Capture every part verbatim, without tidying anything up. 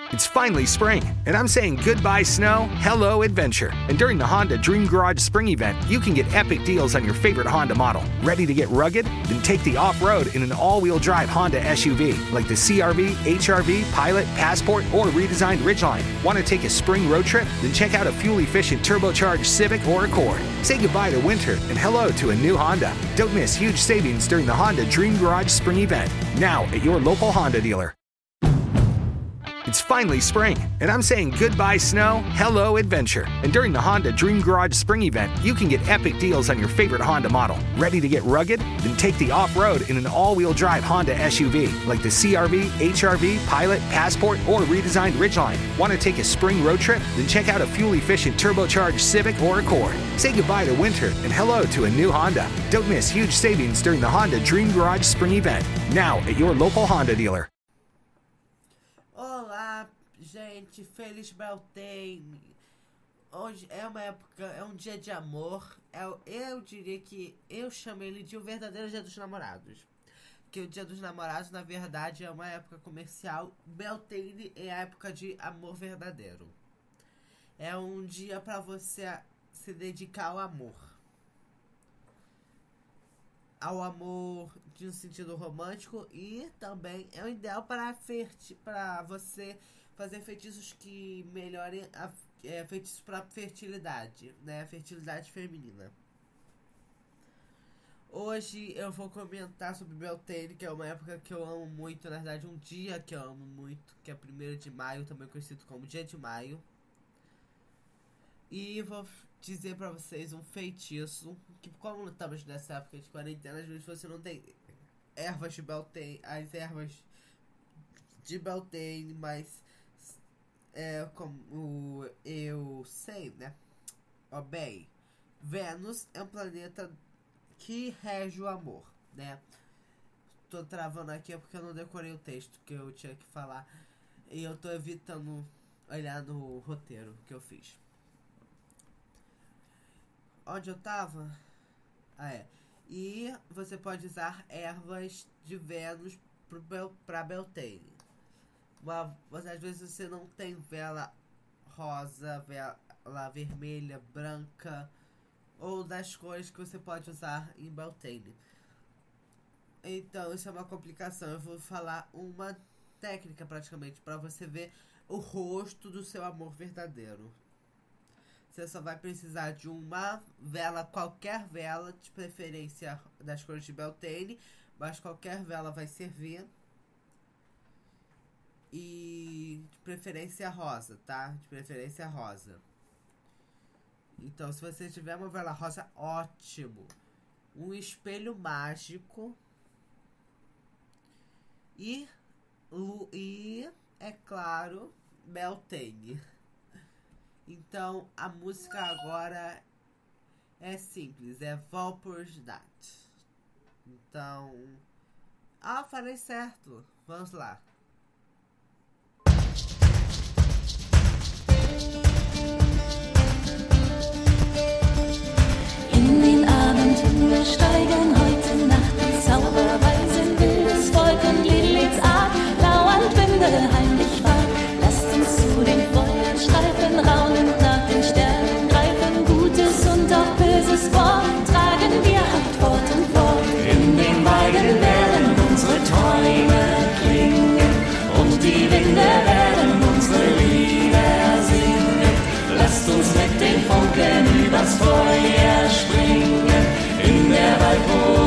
It's finally spring, and I'm saying goodbye snow, hello adventure. And during the Honda Dream Garage Spring Event, you can get epic deals on your favorite Honda model. Ready to get rugged? Then take the off-road in an all-wheel drive Honda S U V, like the C R V, H R V, Pilot, Passport, or redesigned Ridgeline. Want to take a spring road trip? Then check out a fuel-efficient turbocharged Civic or Accord. Say goodbye to winter and hello to a new Honda. Don't miss huge savings during the Honda Dream Garage Spring Event, now at your local Honda dealer. It's finally spring, and I'm saying goodbye snow, hello adventure. And during the Honda Dream Garage Spring Event, you can get epic deals on your favorite Honda model. Ready to get rugged? Then take the off-road in an all-wheel drive Honda S U V, like the C R V, H R V, Pilot, Passport, or redesigned Ridgeline. Want to take a spring road trip? Then check out a fuel-efficient turbocharged Civic or Accord. Say goodbye to winter and hello to a new Honda. Don't miss huge savings during the Honda Dream Garage Spring Event, now at your local Honda dealer. Olá, gente, feliz Beltane. Hoje é uma época, é um dia de amor. Eu, eu diria que eu chamo ele de o verdadeiro Dia dos Namorados. Que o Dia dos Namorados, na verdade, é uma época comercial. Beltane é a época de amor verdadeiro. É um dia para você se dedicar ao amor. Ao amor de um sentido romântico, e também é o ideal para, ferti para você fazer feitiços que melhorem a, é, feitiços para fertilidade, né? Fertilidade feminina. Hoje eu vou comentar sobre Beltane, que é uma época que eu amo muito, na verdade um dia que eu amo muito, que é primeiro de maio, também conhecido como Dia de Maio. E vou dizer pra vocês um feitiço, que como estamos nessa época de quarentena, às vezes você não tem ervas de Beltane, as ervas de Beltane, mas é como eu sei, né? Ó, bem, Vênus é um planeta que rege o amor, né? Tô travando aqui porque eu não decorei o texto que eu tinha que falar, e eu tô evitando olhar no roteiro que eu fiz. Onde eu tava? Ah, é. E você pode usar ervas de Vênus pro, pra Beltane. Uma, às vezes você não tem vela rosa, vela vermelha, branca, ou das cores que você pode usar em Beltane. Então isso é uma complicação. Eu vou falar uma técnica praticamente para você ver o rosto do seu amor verdadeiro. Você só vai precisar de uma vela, qualquer vela, de preferência das cores de Beltane, mas qualquer vela vai servir. E de preferência rosa, tá? De preferência rosa. Então, se você tiver uma vela rosa, ótimo. Um espelho mágico. E, e é claro, Beltane. Então, a música agora é simples, é Valpurgisnacht. Então, ah, falei certo. Vamos lá. In den Abendhimmel steigen heute Nacht die Zauberweisen, wildes Volk und Liliths Art, lauernd Winde heimlich wach. Lasst uns zu den Feuern streifen, raunend nach den Sternen greifen, Gutes und auch Böses Wort tragen wir halt fort und fort. In den Weiden werden unsere Träume klingen und die Winde werden unsere Lieder singen. Lasst uns mit den Funken übers Feuer springen, in der Waldburg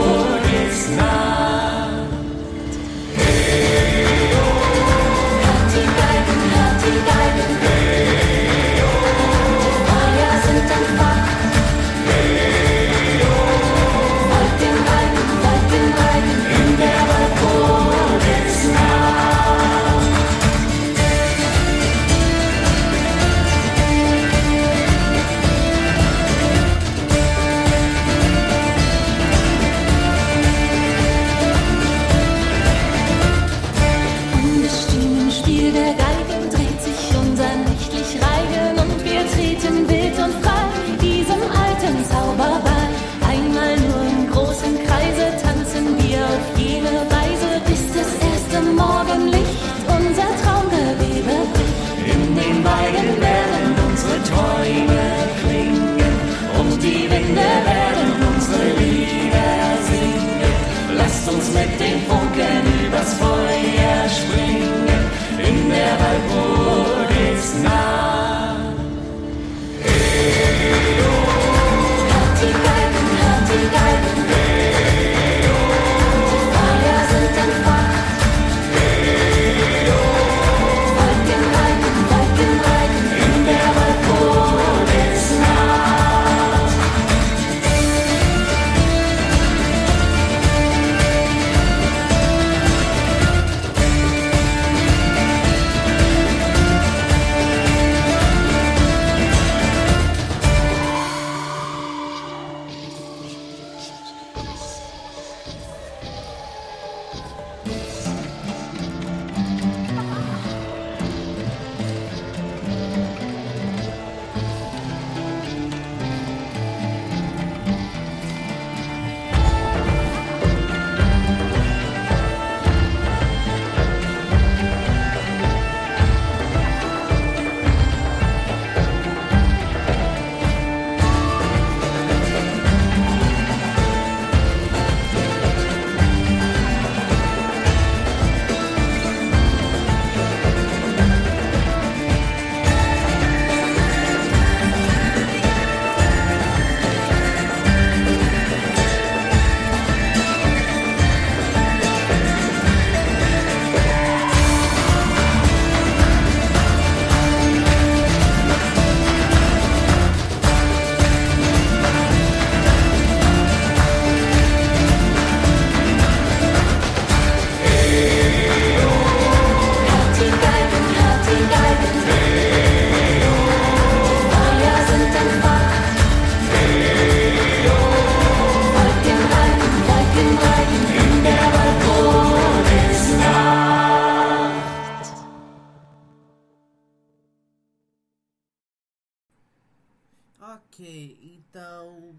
Ok, então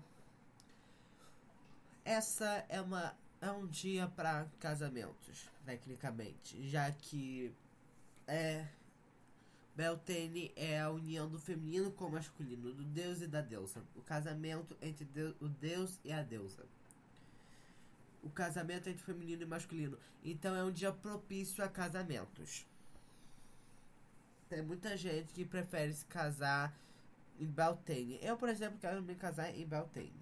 essa é uma é um dia para casamentos, tecnicamente, já que é Beltane é a união do feminino com o masculino, do deus e da deusa, o casamento entre Deus, o deus e a deusa, o casamento entre feminino e masculino. Então é um dia propício a casamentos. Tem muita gente que prefere se casar em Beltane. Eu, por exemplo, quero me casar em Beltane.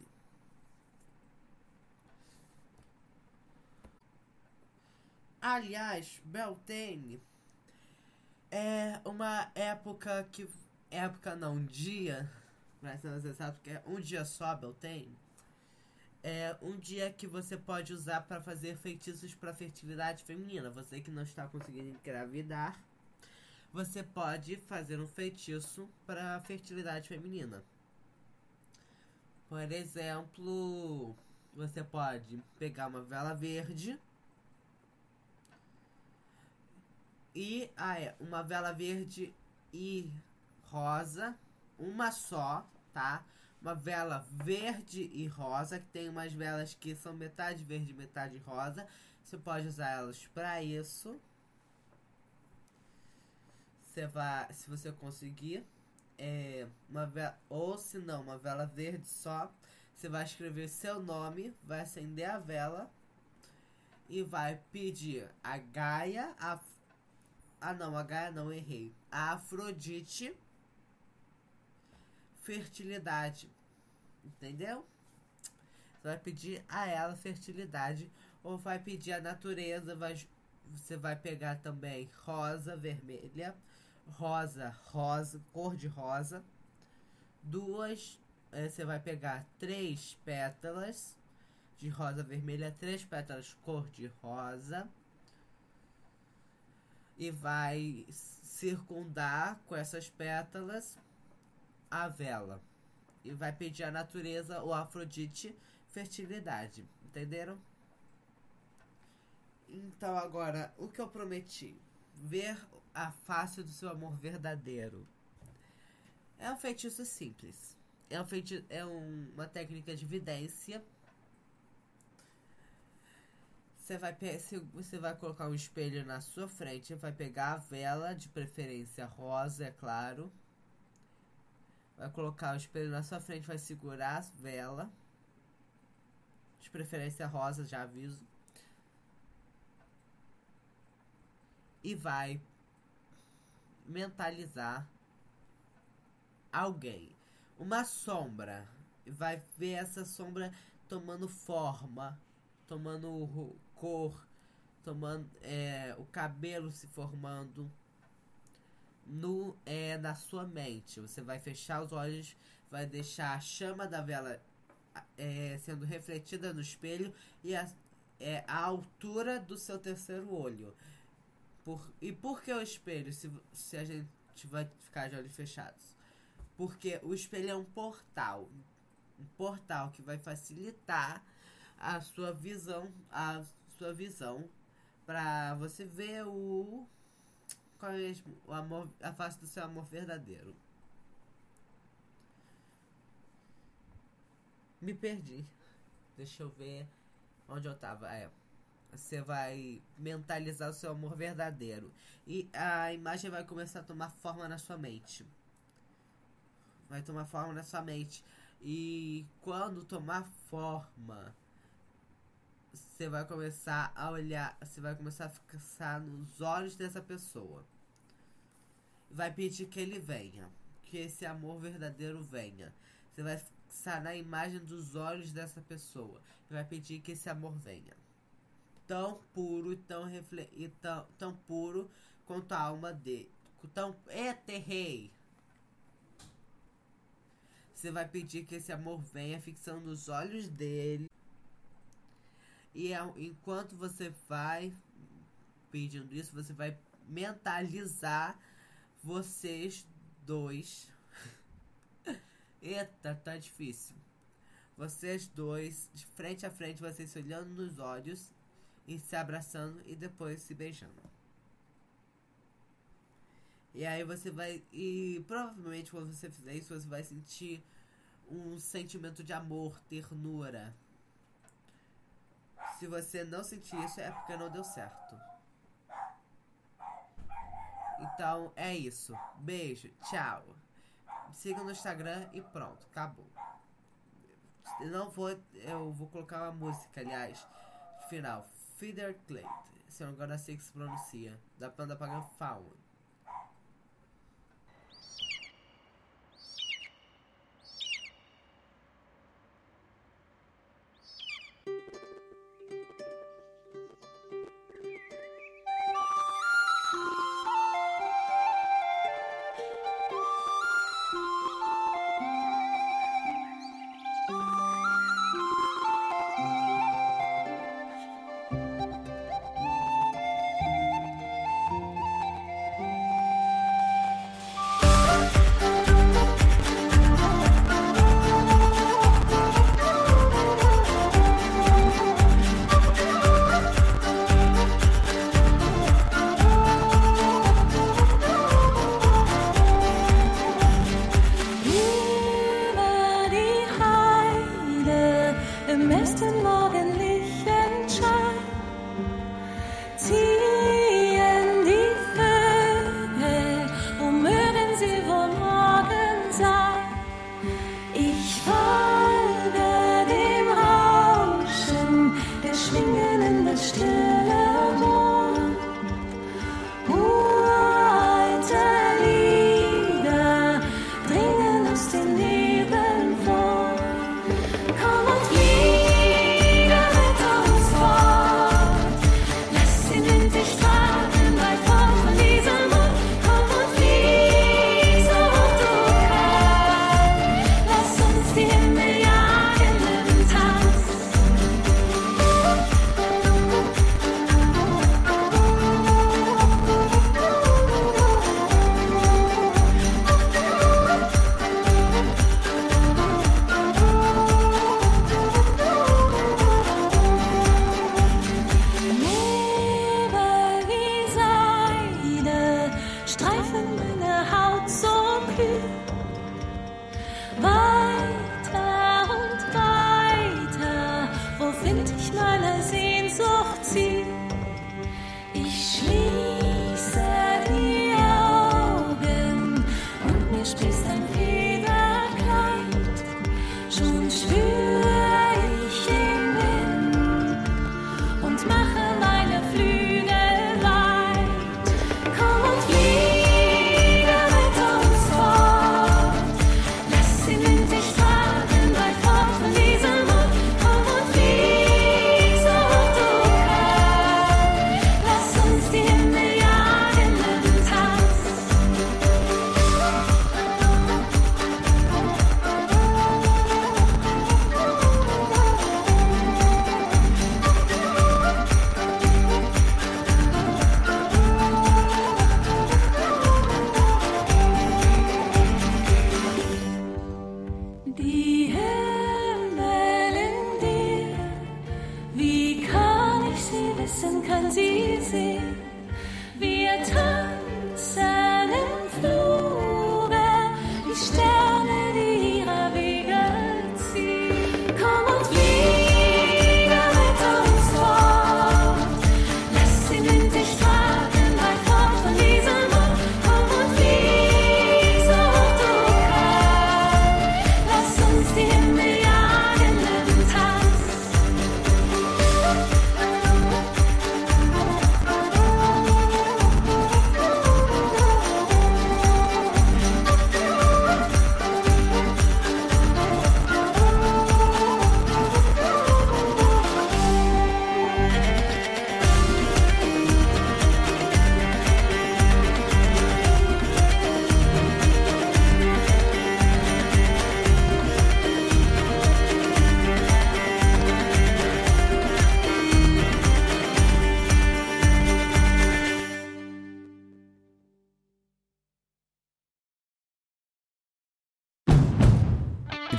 Aliás, Beltane é uma época que... Época não, um dia... Mas você sabe que é um dia só, Beltane. É um dia que você pode usar para fazer feitiços para fertilidade feminina. Você que não está conseguindo engravidar, você pode fazer um feitiço para fertilidade feminina. Por exemplo, você pode pegar uma vela verde e ah, é, uma vela verde e rosa, uma só, tá? Uma vela verde e rosa, que tem umas velas que são metade verde e metade rosa. Você pode usar elas para isso. Você vai, se você conseguir, é, uma vela, ou se não, uma vela verde só. Você vai escrever seu nome, vai acender a vela e vai pedir a Gaia, a, ah não, a Gaia não, errei, a Afrodite, fertilidade, entendeu? Você vai pedir a ela fertilidade, ou vai pedir a natureza, vai, você vai pegar também rosa, vermelha, rosa, rosa, cor de rosa, duas, é, você vai pegar três pétalas de rosa vermelha, três pétalas cor de rosa, e vai circundar com essas pétalas a vela. E vai pedir a natureza ou a Afrodite fertilidade. Entenderam? Então agora, o que eu prometi? Ver a face do seu amor verdadeiro. É um feitiço simples. É, um feiti- é um, uma técnica de vidência. Você vai, pe- se você vai colocar um espelho na sua frente, vai pegar a vela, de preferência rosa, é claro. Vai colocar o espelho na sua frente, vai segurar a vela, de preferência rosa, já aviso. E vai mentalizar alguém, uma sombra. Vai ver essa sombra tomando forma, tomando cor, tomando é, o cabelo se formando no é, na sua mente. Você vai fechar os olhos, vai deixar a chama da vela é, sendo refletida no espelho e a, é, a altura do seu terceiro olho. Por, e por que o espelho, se, se a gente vai ficar de olhos fechados? Porque o espelho é um portal. Um portal que vai facilitar a sua visão, a sua visão para você ver o qual é o amor, a face do seu amor verdadeiro. Me perdi. Deixa eu ver onde eu tava. É. Você vai mentalizar o seu amor verdadeiro. E a imagem vai começar a tomar forma na sua mente. Vai tomar forma na sua mente. E quando tomar forma, você vai começar a olhar, você vai começar a fixar nos olhos dessa pessoa. Vai pedir que ele venha, que esse amor verdadeiro venha. Você vai fixar na imagem dos olhos dessa pessoa e vai pedir que esse amor venha. Tão puro, tão, refle e tão, tão puro quanto a alma dele. Tão eterrei. Você vai pedir que esse amor venha, fixando nos olhos dele. E enquanto você vai pedindo isso, você vai mentalizar vocês dois. Eita, tá difícil. Vocês dois, de frente a frente, vocês se olhando nos olhos e se abraçando e depois se beijando. E aí você vai... E provavelmente quando você fizer isso, você vai sentir um sentimento de amor, ternura. Se você não sentir isso, é porque não deu certo. Então, é isso. Beijo, tchau. Me siga no Instagram e pronto, acabou. Eu não vou... Eu vou colocar uma música, aliás, final. Feather Clay. Se eu não me engano, é assim que se pronuncia. Da banda Pagan Faun. Mache meine Flügel weit. Komm und flieg.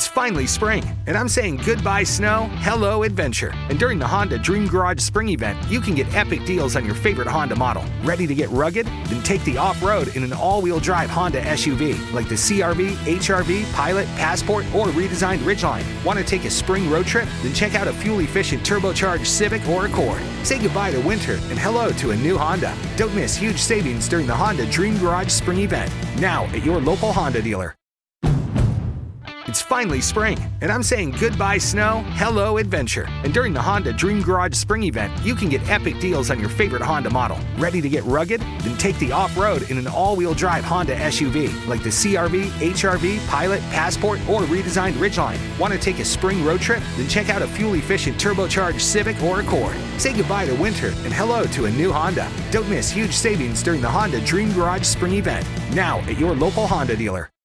It's finally spring, and I'm saying goodbye snow, hello adventure. And during the Honda Dream Garage Spring Event, you can get epic deals on your favorite Honda model. Ready to get rugged? Then take the off-road in an all-wheel drive Honda S U V, like the C R V, H R V, Pilot, Passport, or redesigned Ridgeline. Want to take a spring road trip? Then check out a fuel-efficient turbocharged Civic or Accord. Say goodbye to winter and hello to a new Honda. Don't miss huge savings during the Honda Dream Garage Spring Event, now at your local Honda dealer. It's finally spring, and I'm saying goodbye snow, hello adventure. And during the Honda Dream Garage Spring Event, you can get epic deals on your favorite Honda model. Ready to get rugged? Then take the off-road in an all-wheel drive Honda S U V, like the C R V, H R V, Pilot, Passport, or redesigned Ridgeline. Want to take a spring road trip? Then check out a fuel-efficient turbocharged Civic or Accord. Say goodbye to winter and hello to a new Honda. Don't miss huge savings during the Honda Dream Garage Spring Event, now at your local Honda dealer.